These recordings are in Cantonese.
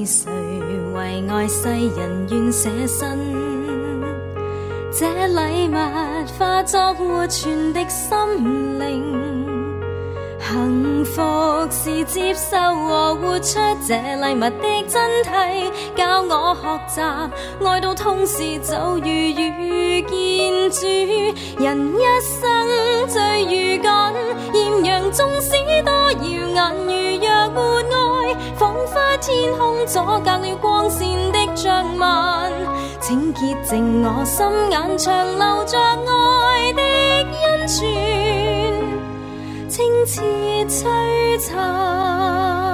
誰為愛世人願捨身？這禮物化作活存的心靈，幸福是接受和活出這禮物的真諦，教我學習愛到痛時就如遇見主。人一生最如緊，豔陽縱使多耀眼，如若沒愛，彷彿天空阻隔了光線的障紋。請潔淨我心眼，長留着愛的恩泉，清澈璀璨。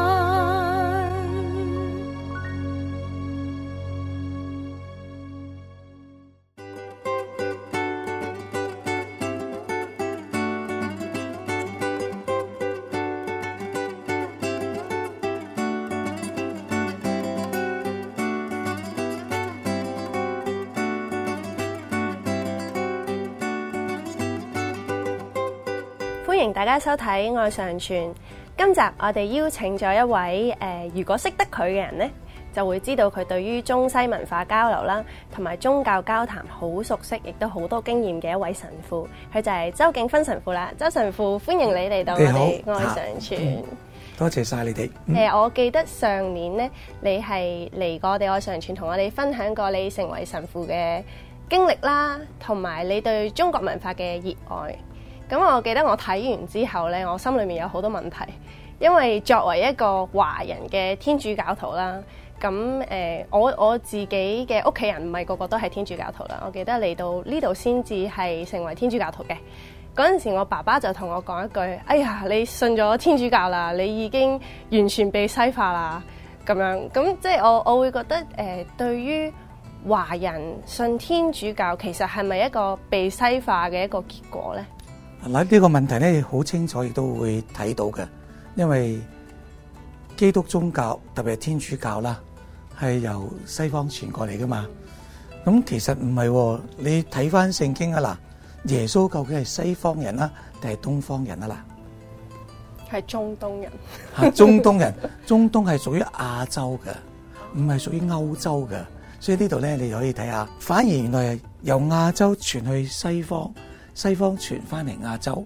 歡迎大家收睇《愛常傳》。今集我哋邀請咗一位如果識得佢嘅人呢，就會知道佢對於中西文化交流啦，同埋宗教交談好熟悉，亦都好多經驗嘅一位神父。佢就係周敬芬神父啦。周神父，歡迎你嚟到我哋《愛常傳》。 多謝晒你哋。 我記得上年呢，你係嚟過我哋《愛常傳》，同我哋分享過你成為神父嘅經歷啦，同埋你對中國文化嘅熱愛。咁我記得我睇完之後呢，我心裏面有好多問題，因為作為一個華人嘅天主教徒啦，咁我自己嘅屋企人唔係個個都係天主教徒啦。我記得嚟到呢度先至係成為天主教徒嘅。嗰陣時我爸爸就同我講一句：哎呀，你信咗天主教啦，你已經完全被西化啦。咁樣，咁即係我會覺得對於華人信天主教，其實係咪一個被西化嘅一個結果呢？ 嗱，呢個問題咧好清楚，亦都會睇到嘅，因為基督宗教特別係天主教啦，係由西方傳過嚟噶嘛。咁其實唔係，你睇翻聖經啊嗱，耶穌究竟係西方人啦，定係東方人啊啦？ 係中東人。 嚇，中東人，中東係屬於亞洲嘅，唔係屬於歐洲嘅。所以呢度咧，你可以睇下，反而原來係由亞洲傳去西方。西方傳翻嚟亞洲，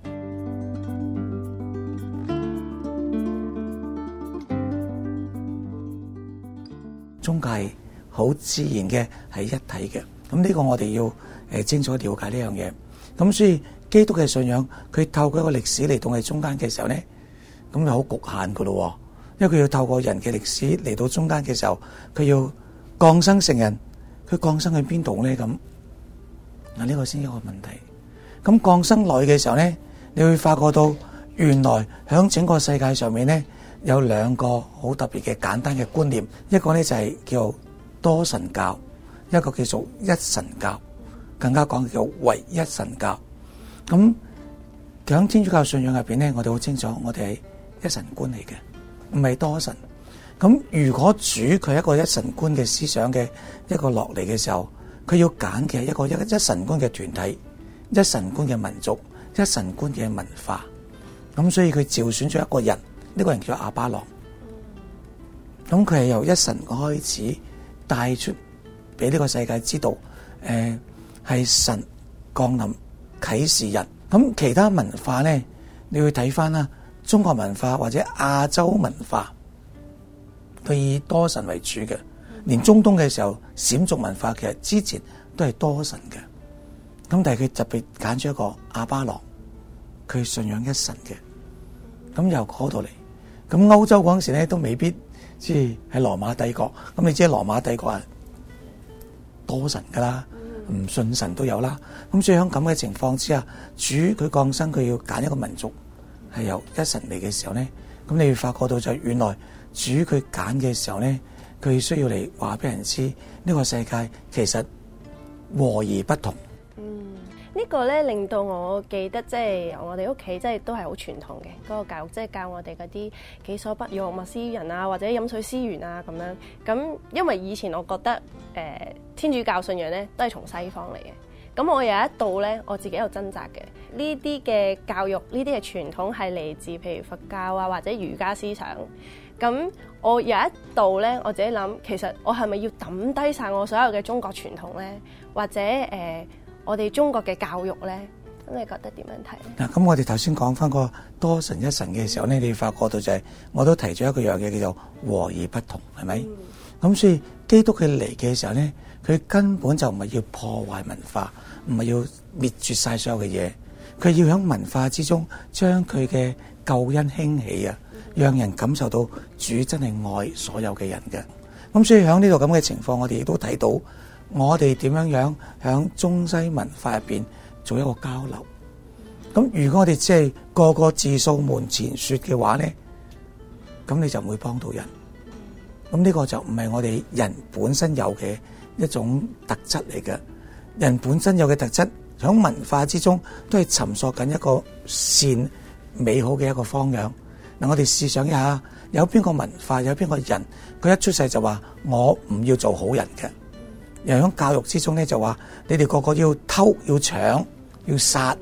宗教係好自然嘅，係一體嘅。咁呢個我哋要清楚了解呢樣嘢。咁所以基督嘅信仰，佢透過一個歷史嚟到我哋中間嘅時候咧，咁就好局限噶咯。因為佢要透過人嘅歷史嚟到中間嘅時候，佢要降生成人，佢降生去邊度咧？咁嗱，呢個先係一個問題。咁降生來嘅時候咧，你會發覺到原來響整個世界上面咧，有兩個好特別嘅簡單嘅觀念，一個咧就係叫多神教，一個叫做一神教，更加講叫唯一神教。咁響天主教信仰入邊咧，我哋好清楚，我哋係一神觀嚟嘅，唔係多神。咁如果主佢係一個一神觀嘅思想嘅一個落嚟嘅時候，佢要揀嘅係一個一神觀嘅團體。一神觀嘅民族，一神觀嘅文化，咁所以佢召選咗一個人，呢個人叫亞巴郎。咁佢係由一神開始帶出俾呢個世界知道，係神降臨啟示人。咁其他文化咧，你會睇翻啦，中國文化或者亞洲文化，佢以多神為主嘅。連中東嘅時候，閃族文化其實之前都係多神嘅。咁但係佢特別揀咗一個亞巴郎，佢信仰一神嘅。咁由嗰度嚟，咁歐洲嗰陣時咧都未必即係喺羅馬帝國。咁你知羅馬帝國係多神噶啦，唔信神都有啦。咁所以喺咁嘅情況之下，主佢降生，佢要揀一個民族係由一神嚟嘅時候咧，咁你會發覺到就原來主佢揀嘅時候咧，佢需要嚟話俾人知呢個世界其實和而不同。 呢個咧令到我記得，即係我哋屋企即係都係好傳統嘅嗰個教育，即係教我哋嗰啲己所不欲，勿施於人啊，或者飲水思源啊咁樣。咁因為以前我覺得天主教信仰咧都係從西方嚟嘅。咁我有一度咧，我自己有掙扎嘅。呢啲嘅教育，呢啲嘅傳統係嚟自譬如佛教啊或者儒家思想。 咁我有一度咧，我自己諗，其實我係咪要抌低晒我所有嘅中國傳統咧，或者我哋中國嘅教育咧？咁你覺得點樣睇咧？ 嗱，咁我哋頭先講翻個多神一神嘅時候咧，你發覺到就係、我都提咗一個樣嘢叫做和而不同，係咪？咁所以基督佢嚟嘅時候咧，佢根本就唔係要破壞文化，唔係要滅絕晒所有嘅嘢，佢要喺文化之中將佢嘅救恩興起啊，讓人感受到主真係愛所有嘅人嘅。咁所以喺呢個咁嘅情況，我哋亦都睇到我哋點樣樣喺中西文化入邊做一個交流。咁如果我哋只係個個自掃門前雪嘅話咧，咁你就唔會幫到人。咁呢個就唔係我哋人本身有嘅一種特質嚟嘅。人本身有嘅特質喺文化之中都係尋索緊一個善美好嘅一個方向。嗱，我哋試想一下，有邊個文化，有邊個人，佢一出世就話我唔要做好人嘅。又喺教育之中咧就話你哋個個要偷、要搶、要殺。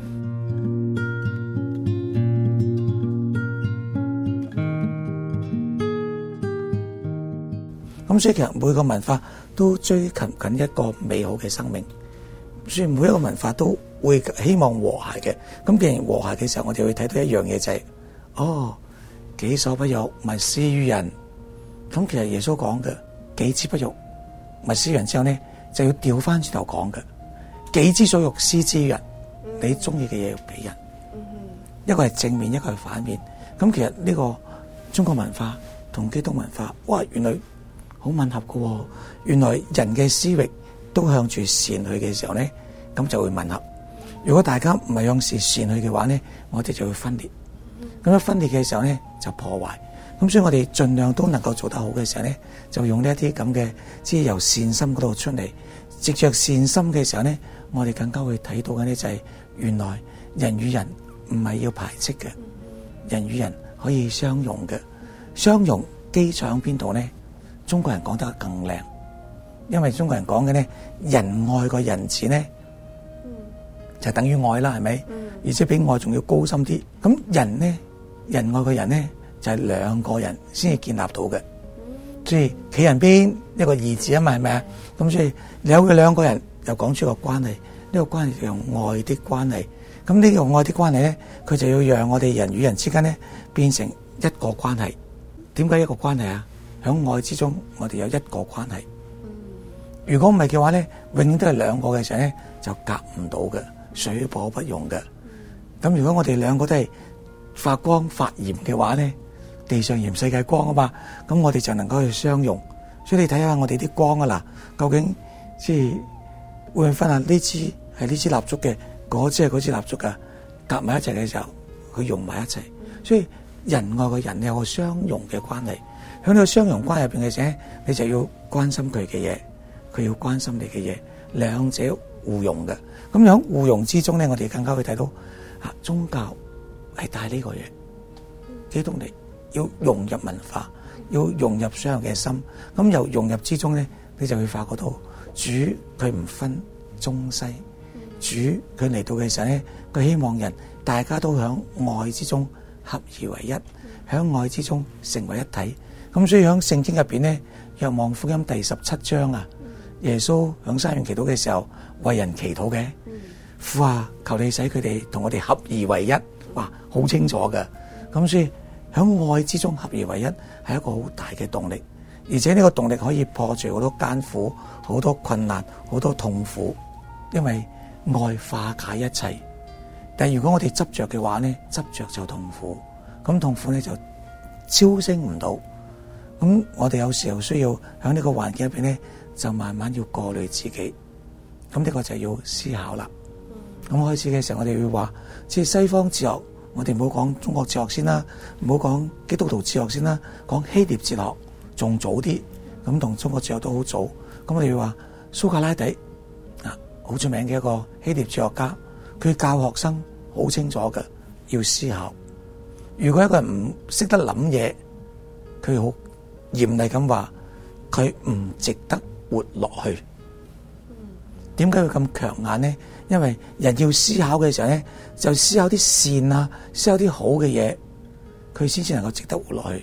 咁所以其實每個文化都追求緊一個美好嘅生命，所以每一個文化都會希望和諧嘅。咁既然和諧嘅時候，我哋會睇到一樣嘢就係，己所不欲，勿施於人。咁其實耶穌講嘅己之不欲，勿施於人之後咧，就要調翻轉頭講嘅，己之所欲，施之於人。你中意嘅嘢要俾人，一個係正面，一個係反面。咁其實呢個中國文化同基督文化，哇，原來好吻合嘅喎。原來人嘅思域都向住善去嘅時候咧，咁就會吻合。如果大家唔係向善去嘅話咧，我哋就會分裂。咁一分裂嘅時候咧，就破壞。咁所以我哋盡量都能夠做得好嘅時候咧，就用呢一啲咁嘅，即係由善心嗰度出嚟，藉着善心嘅時候咧，我哋更加會睇到嘅咧就係原來人與人唔係要排斥嘅，人與人可以相容嘅。相容基礎喺邊度咧？中國人講得更靚，因為中國人講嘅咧，仁愛個仁字咧，就等於愛啦，係咪？而且比愛仲要高深啲。咁人咧，仁愛個人咧，就係兩個人先至建立到嘅。所以企人邊一個義字啊嘛，係咪啊？咁所以有嘅兩個人又講出個關係，呢個關係就用愛的關係。咁呢個愛的關係咧，佢就要讓我哋人與人之間咧變成一個關係。點解一個關係啊？喺愛之中，我哋有一個關係。如果唔係嘅話咧，永遠都係兩個嘅時候咧，就夾唔到嘅，水火不容嘅。咁如果我哋兩個都係發光發炎嘅話咧，地上鹽世界光啊嘛，咁我哋就能夠去相容。所以你睇下我哋啲光啊嗱，究竟即係會分下呢支係呢支蠟燭嘅，嗰支係嗰支蠟燭噶，夾埋一齊嘅時候，佢融埋一齊。所以仁愛嘅人有個相容嘅關係。喺呢個相容關係入邊嘅時候，你就要關心佢嘅嘢，佢要關心你嘅嘢，兩者互融嘅。咁樣互融之中咧，我哋更加會睇到宗教係帶呢個嘢，基督嚟要融入文化，要融入所有嘅心。咁由融入之中咧，你就會發覺到主佢唔分中西，主佢嚟到嘅時候咧，佢希望人大家都響愛之中合而為一，響愛之中成為一體。咁所以喺聖經入邊咧，若望福音第17章啊，耶穌響山園祈禱嘅時候為人祈禱嘅，父啊，求你使佢哋同我哋合而為一，哇，好清楚嘅。咁所以喺愛之中合而為一係一個好大嘅動力，而且呢個動力可以破除好多艱苦、好多困難、好多痛苦，因為愛化解一切。但係如果我哋執着嘅話咧，執着就痛苦，咁痛苦咧就超升唔到。咁我哋有時候需要喺呢個環境入邊咧，就慢慢要過濾自己。咁呢個就要思考啦。咁開始嘅時候，我哋會話，即係西方哲學，我哋唔好講中國哲學先啦，唔好講基督徒哲學先啦，講希臘哲學仲早啲。咁同中國哲學都好早。咁我哋會話蘇格拉底好出名嘅一個希臘哲學家，佢教學生好清楚嘅，要思考。如果一個人唔識得諗嘢，佢好嚴厲咁話，佢唔值得活落去。點解會咁強硬呢？因為人要思考嘅時候咧，就思考啲善啊，思考啲好嘅嘢，佢先至能夠值得活落去。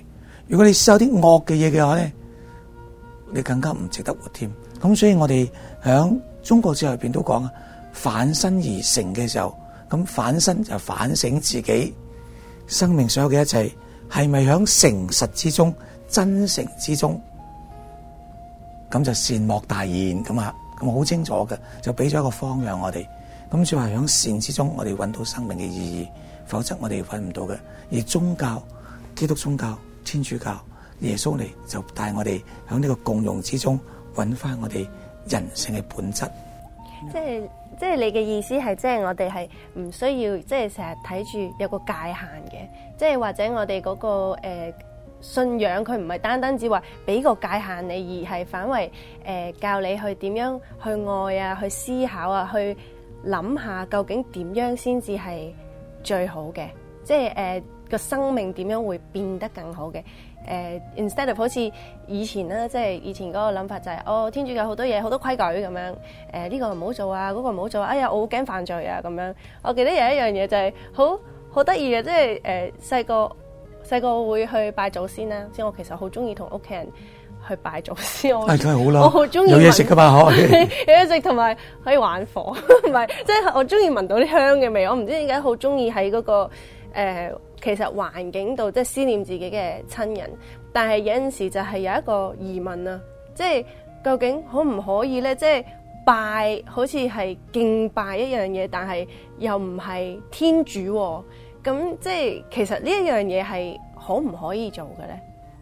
如果你思考啲惡嘅嘢嘅話咧，你更加唔值得活添。咁所以我哋響中國哲學入邊都講啊，反身而成嘅時候，咁反身就反省自己生命所有嘅一切係咪響誠實之中、真誠之中，咁就善莫大焉咁啊，咁好清楚嘅，就俾咗一個方向我哋。咁所以話響善之中，我哋揾到生命嘅意義，否則我哋揾唔到嘅。而宗教、基督宗教、天主教、耶穌嚟就帶我哋響呢個共融之中揾翻我哋人性嘅本質。 即係你嘅意思係，即係我哋係唔需要，即係成日睇住有個界限嘅，即係或者我哋嗰個信仰佢唔係單單只話俾個界限你，而係反為教你去點樣去愛啊，去思考啊，去諗下究竟點樣先至係最好嘅，即係個生命點樣會變得更好嘅。instead of 好似以前啦，即係以前嗰個諗法就係天主教好多嘢好多規矩咁樣，呢個唔好做啊，嗰個唔好做啊，哎呀我好驚犯罪啊咁樣。我記得有一樣嘢就係好得意嘅，即係細個會去拜祖先啦。即係我其實好中意同屋企人去拜祖先，我好中意有嘢食噶嘛，可以有嘢食同埋可以玩火，唔係即係我中意聞到啲香嘅味。我唔知點解好中意喺嗰個其實環境度即係思念自己嘅親人，但係有陣時就係有一個疑問啊，即係究竟可唔可以咧？即係拜好似係敬拜一樣嘢，但係又唔係天主喎，咁即係其實呢一樣嘢係可唔可以做嘅咧？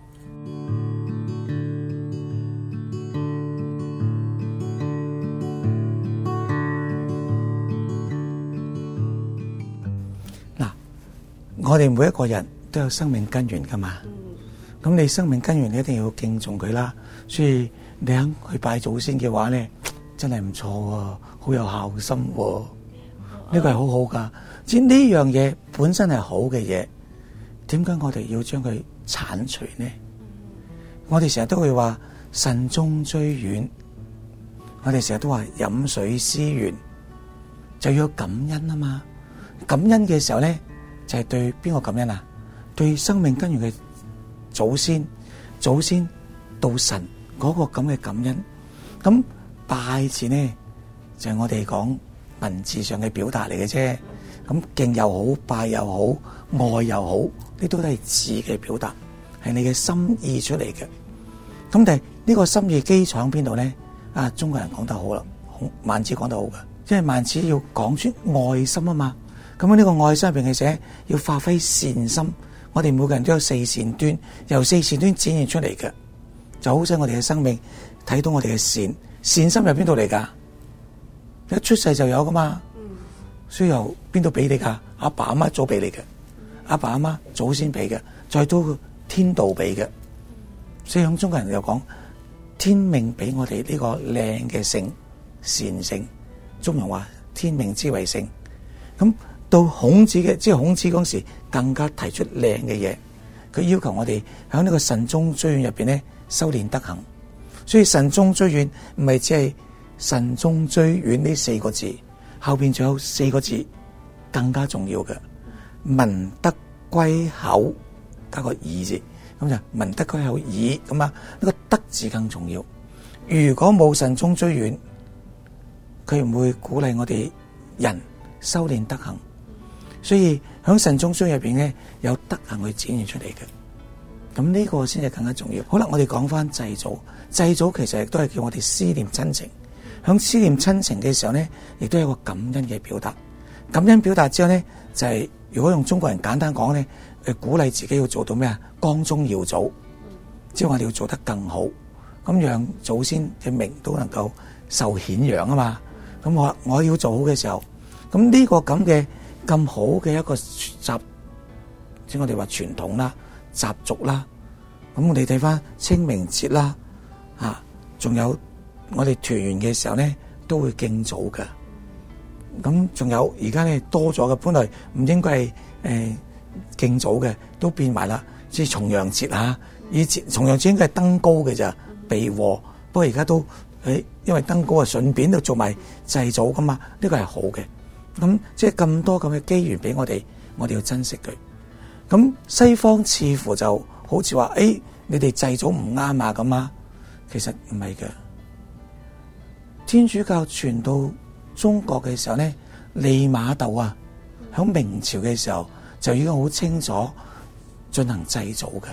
我哋每一個人都有生命根源噶嘛，咁你生命根源你一定要敬重佢啦。所以你肯去拜祖先嘅話咧，真係唔錯喎，好有孝心喎，呢個係好好噶。即係呢樣嘢本身係好嘅嘢，點解我哋要將佢剷除呢？我哋成日都會話慎終追遠，我哋成日都話飲水思源，就要感恩啊嘛。感恩嘅時候咧，就係對邊個感恩啊？對生命根源嘅祖先到神嗰個咁嘅感恩。咁拜字呢，就係我哋講文字上嘅表達嚟嘅啫。咁敬又好，拜又好，愛又好，呢都係字嘅表達，係你嘅心意出嚟嘅。咁但係呢個心意基礎喺邊度咧？中國人講得好啦，孟子講得好嘅，因為孟子要講出愛心啊嘛。咁呢個愛心入邊嘅寫要發揮善心，我哋每個人都有四善端，由四善端展現出嚟嘅，就好使我哋嘅生命睇到我哋嘅善心由邊度嚟噶？一出世就有噶嘛，所以由邊度俾你噶？阿爸阿媽早俾你嘅，阿爸阿媽祖先俾嘅，再到天道俾嘅。所以響中國人又講天命俾我哋呢個靚嘅性善性，中人話天命之為性。咁到孔子嘅，即係孔子嗰時更加提出靚嘅嘢，佢要求我哋喺呢個慎終追遠入邊咧修煉德行。所以慎終追遠唔係只係慎終追遠呢四個字，後邊仲有四個字更加重要嘅，民德歸口加個義字，咁就民德歸口義咁啊，呢個德字更重要。如果冇慎終追遠，佢唔會鼓勵我哋人修煉德行。所以喺慎終追遠入邊咧，有德行去展現出嚟嘅，咁呢個先係更加重要。好啦，我哋講翻祭祖，祭祖其實亦都係叫我哋思念親情。喺思念親情嘅時候咧，亦都有一個感恩嘅表達。感恩表達之後咧，就係如果用中國人簡單講咧，鼓勵自己要做到咩啊？光宗耀祖，即係我哋要做得更好，咁讓祖先嘅名都能夠受顯揚啊嘛。咁我要做好嘅時候，咁呢個咁嘅咁好嘅一個習，即係我哋話傳統啦、習俗啦。咁我哋睇翻清明節啦，仲有我哋團圓嘅時候咧，都會敬祖嘅。咁仲有而家咧多咗嘅，本來唔應該係敬祖嘅，都變埋啦。即係重陽節啊，以前重陽節應該係登高嘅咋，避禍。不過而家都因為登高啊，順便都做埋祭祖噶嘛，呢個係好嘅。咁即係咁多咁嘅機緣俾我哋要珍惜佢。咁西方似乎就好似話你哋祭祖唔啱啊咁啊，其實唔係嘅。天主教傳到中國嘅時候咧，利瑪竇啊，喺明朝嘅時候就已經好清楚進行祭祖嘅。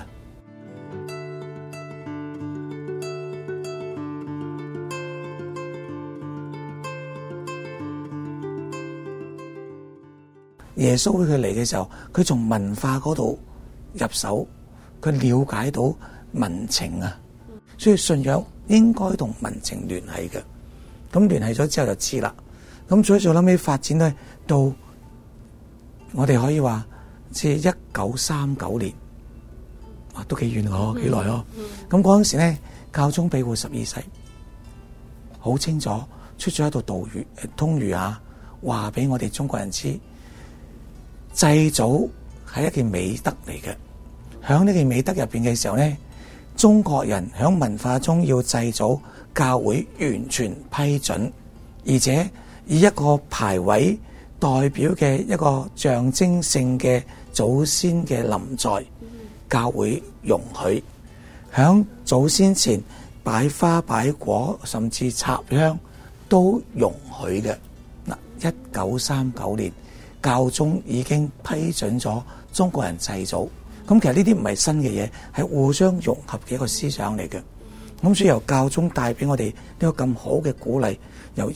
耶穌佢嚟嘅時候，佢從文化嗰度入手，佢了解到民情啊，所以信仰應該同民情聯繫嘅。咁聯繫咗之後就知啦。咁所以就諗起發展咧，到我哋可以話即係1939年，哇，都幾遠哦，幾耐哦。咁嗰陣時咧，教宗庇護12世好清楚出咗一道道語通諭啊，話俾我哋中國人知。祭祖係一件美德嚟嘅，喺呢件美德入邊嘅時候咧，中國人喺文化中要祭祖，教會完全批准，而且以一個牌位代表嘅一個象徵性嘅祖先嘅臨在，教會容許喺祖先前擺花擺果，甚至插香都容許嘅。嗱，1939年。教宗已經批准咗中國人祭祖，咁其實呢啲唔係新嘅嘢，係互相融合嘅一個思想嚟嘅。咁所以由教宗帶俾我哋呢個咁好嘅鼓勵，由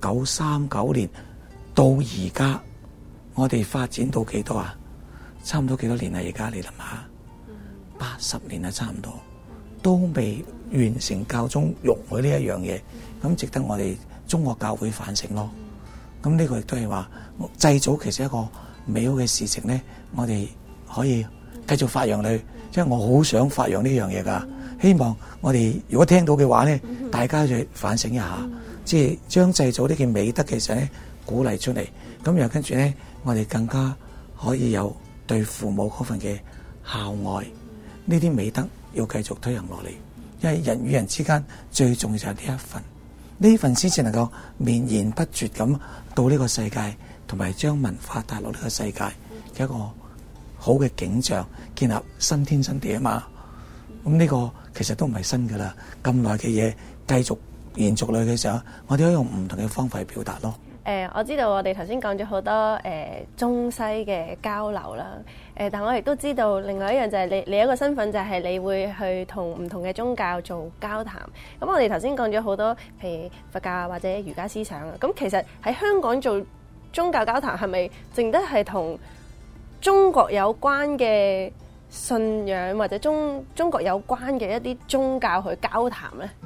1939年到而家，我哋發展到幾多啊？差唔多幾多年啦？而家你諗下，80年啦，差唔多，都未完成教宗容許呢一樣嘢，咁值得我哋中國教會反省咯。咁呢個亦都係話祭祖其實一個美好嘅事情咧，我哋可以繼續發揚佢，即係我好想發揚呢樣嘢噶。希望我哋如果聽到嘅話咧，大家就反省一下，即係將祭祖呢件美德其實咧鼓勵出嚟，咁又跟住咧，我哋更加可以有對父母嗰份嘅孝愛，呢啲美德要繼續推行落嚟，因為人與人之間最重要就係呢一份。呢份先至能夠綿延不絕咁到呢個世界，同埋將文化帶落呢個世界嘅一個好嘅景象，建立新天新地啊嘛。咁呢個其實都唔係新噶啦，咁耐嘅嘢繼續延續落去嘅時候，我哋可以用唔同嘅方法去表達咯。 我知道我哋頭先講咗好多中西嘅交流啦，但我亦都知道另外一樣就係你一個身份就係你會去同唔同嘅宗教做交談。咁我哋頭先講咗好多，譬如佛教或者儒家思想啊。咁其實喺香港做宗教交談係咪淨得係同中國有關嘅信仰或者中國有關嘅一啲宗教去交談呢？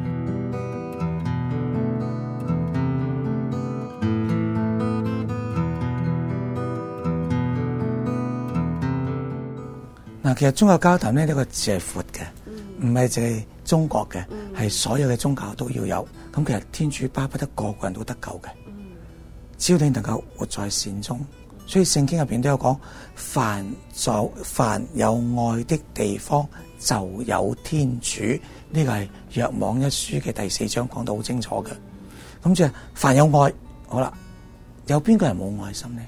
嗱，其實宗教交談咧呢個字係闊嘅，唔係淨係中國嘅，係所有嘅宗教都要有。咁其實天主巴不得個個人都得救嘅，只要你能夠活在善中。所以聖經入邊都有講，凡有愛的地方就有天主。呢個係若望一書嘅第4章講得好清楚嘅。咁即係凡有愛，好啦，有邊個人冇愛心呢？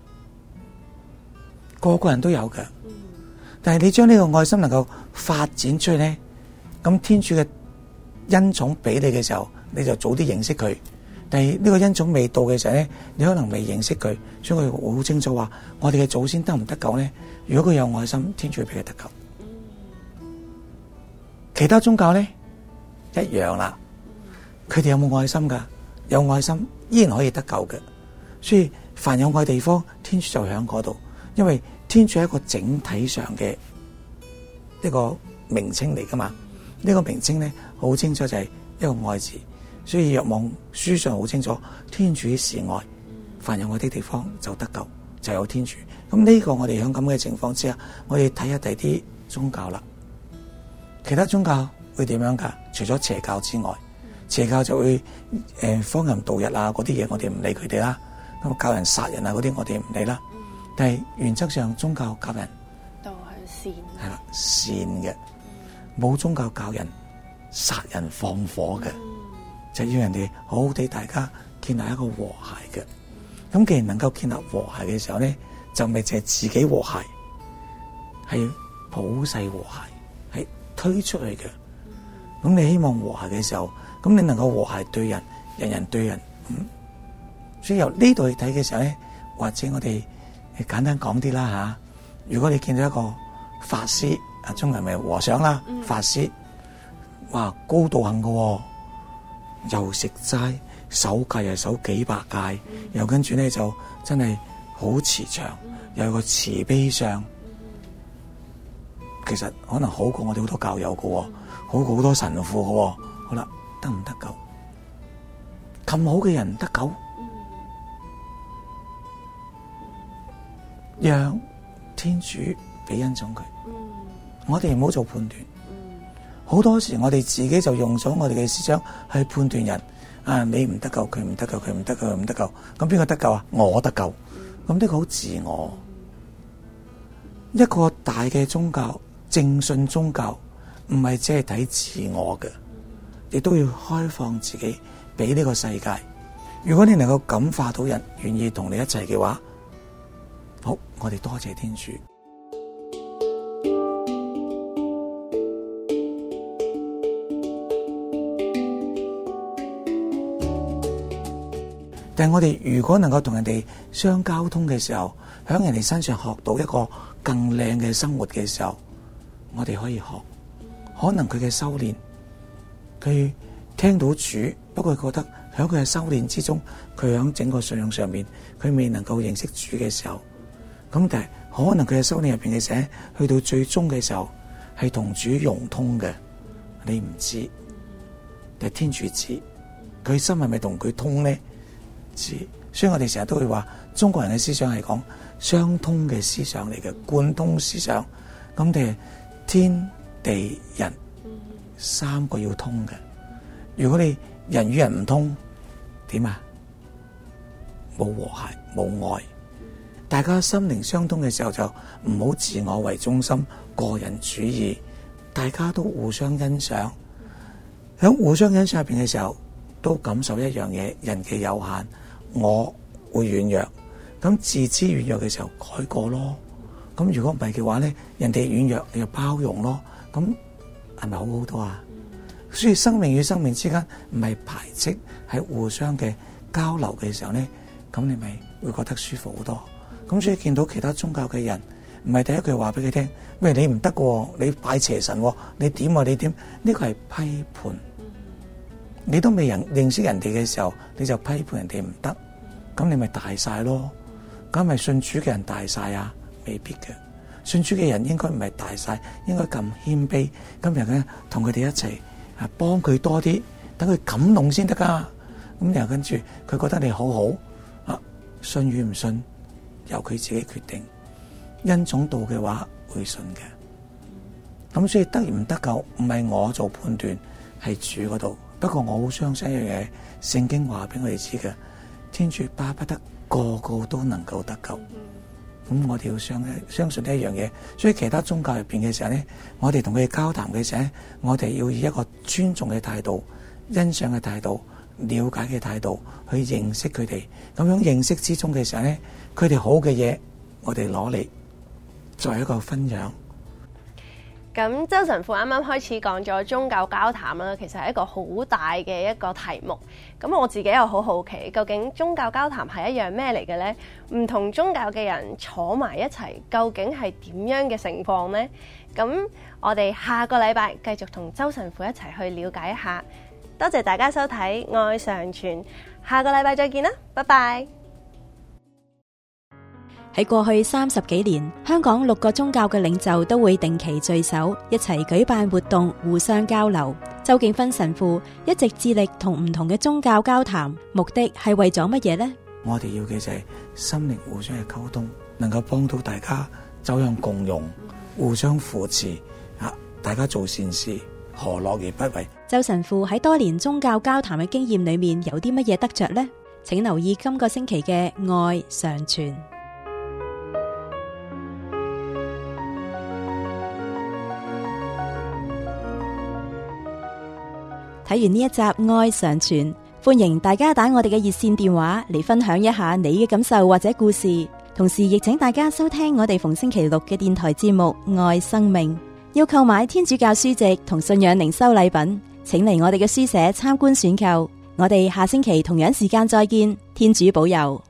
個個人都有嘅。但係你將呢個愛心能夠發展出去咧，咁天主嘅恩寵俾你嘅時候，你就早啲認識佢。但係呢個恩寵未到嘅時候咧，你可能未認識佢，所以佢好清楚話，我哋嘅祖先得唔得救咧？如果佢有愛心，天主會俾佢得救。其他宗教咧一樣啦，佢哋有冇愛心噶？有愛心依然可以得救嘅。所以凡有愛地方，天主就喺嗰度，因為天主係一個整體上嘅一個名稱嚟噶嘛。呢個名稱咧好清楚就係一個愛字，所以若望書上好清楚，天主是愛，凡有愛的地方就得救，就有天主。咁呢個我哋喺咁嘅情況之下，我哋睇下第啲宗教啦。其他宗教會點樣噶？除咗邪教之外，邪教就會荒淫盜日啊嗰啲嘢，我哋唔理佢哋啦。咁教人殺人啊嗰啲，我哋唔理啦。但係原則上宗教教人導向善， 係啦，善嘅，冇宗教教人殺人放火嘅，就要人哋好好地大家建立一個和諧嘅。咁既然能夠建立和諧嘅時候咧，就咪淨係自己和諧，係好細和諧，係推出去嘅。咁你希望和諧嘅時候，咁你能夠和諧對人，人人對人。所以由呢度去睇嘅時候咧，或者我哋簡單講啲啦吓。如果你見到一個法師，中國人咪和尚啦，法師，哇，高道行嘅，又食齋，守戒又守幾百戒，又跟住咧就真係好慈祥，又有個慈悲相。其實可能好過我哋好多教友嘅，好過好多神父嘅。好啦，得唔得救？咁好嘅人得救？讓天主俾恩寵佢。我哋唔好做判斷。好多時我哋自己就用咗我哋嘅思想去判斷人。啊，你唔得救，佢唔得救，佢唔得救，佢唔得救。咁邊個得救啊？我得救。咁呢個好自我。一個大嘅宗教，正信宗教，唔係只係睇自我嘅，亦都要開放自己俾呢個世界。如果你能夠感化到人，願意同你一齊嘅話，好，我哋多謝天主。但係我哋如果能夠同人哋相交通嘅時候，喺人哋身上學到一個更靚嘅生活嘅時候，我哋可以學。可能佢嘅修煉，佢聽到主，不過覺得喺佢嘅修煉之中，佢喺整個信仰上面，佢未能夠認識主嘅時候，咁但係可能佢嘅修煉入邊嘅時候，去到最終嘅時候，係同主融通嘅，你唔知，但係天主知，佢心係咪同佢通呢？知，所以我哋成日都會話，中國人嘅思想係講相通嘅思想嚟嘅，貫通思想，咁哋天地人三個要通嘅。如果你人與人唔通，點啊？冇和諧，冇愛。大家心靈相通嘅時候，就唔好自我為中心，個人主義，大家都互相欣賞。喺互相欣賞入邊嘅時候，都感受一樣嘢，人嘅有限，我會軟弱。咁自知軟弱嘅時候，改過咯。咁如果唔係嘅話咧，人哋軟弱你就包容咯。咁係咪好好多啊？所以生命與生命之間唔係排斥，係互相嘅交流嘅時候咧，咁你咪會覺得舒服好多。咁所以見到其他宗教嘅人，唔係第一句話俾佢聽，喂，你唔得嘅，你拜邪神，你點啊？你點？呢個係批判。你都未認識人哋嘅時候，你就批判人哋唔得，咁你咪大晒咯。咁咪信主嘅人大晒啊？未必嘅。信主嘅人應該唔係大晒，應該咁謙卑。今日咧同佢哋一齊啊，幫佢多啲，等佢感動先得噶。咁又跟住佢覺得你好好啊，信與唔信由佢自己決定。恩寵到嘅話會信嘅。咁所以得唔得救唔係我做判斷，係主嗰度。不過我好相信一樣嘢，聖經話俾我哋知嘅，天主巴不得個個都能夠得救。咁我哋要相信呢一樣嘢。所以其他宗教入邊嘅時候咧，我哋同佢哋交談嘅時候咧，我哋要以一個尊重嘅態度、欣賞嘅態度、了解嘅態度去認識佢哋。咁樣認識之中嘅時候咧，佢哋好嘅嘢，我哋攞嚟作為一個分享。 咁周神父啱啱開始講咗宗教交談啦，其實係一個好大嘅一個題目。咁我自己又好好奇，究竟宗教交談係一樣咩嚟嘅呢？唔同宗教嘅人坐埋一齊，究竟係點樣嘅情況呢？咁我哋下個禮拜繼續同周神父一齊去了解一下。多謝大家收睇《愛常傳》，下個禮拜再見啦，拜拜。 喺過去30幾年，香港6個宗教嘅領袖都會定期聚首，一齊舉辦活動，互相交流。周敬芬神父一直致力同唔同嘅宗教交談，目的係為咗乜嘢呢？ 我哋要嘅就係心靈互相嘅溝通，能夠幫到大家走向共融，互相扶持啊！大家做善事，何樂而不為？ 周神父喺多年宗教交談嘅經驗裏面有啲乜嘢得着呢？請留意今個星期嘅愛常傳。睇完呢一集愛常傳，歡迎大家打我哋嘅熱線電話嚟分享一下你嘅感受或者故事。 同時亦請大家收聽我哋逢星期六嘅電台節目《愛生命》。要購買天主教書籍同信仰靈修禮品，請嚟我哋嘅書社參觀選購。我哋下星期同樣時間再見，天主保佑。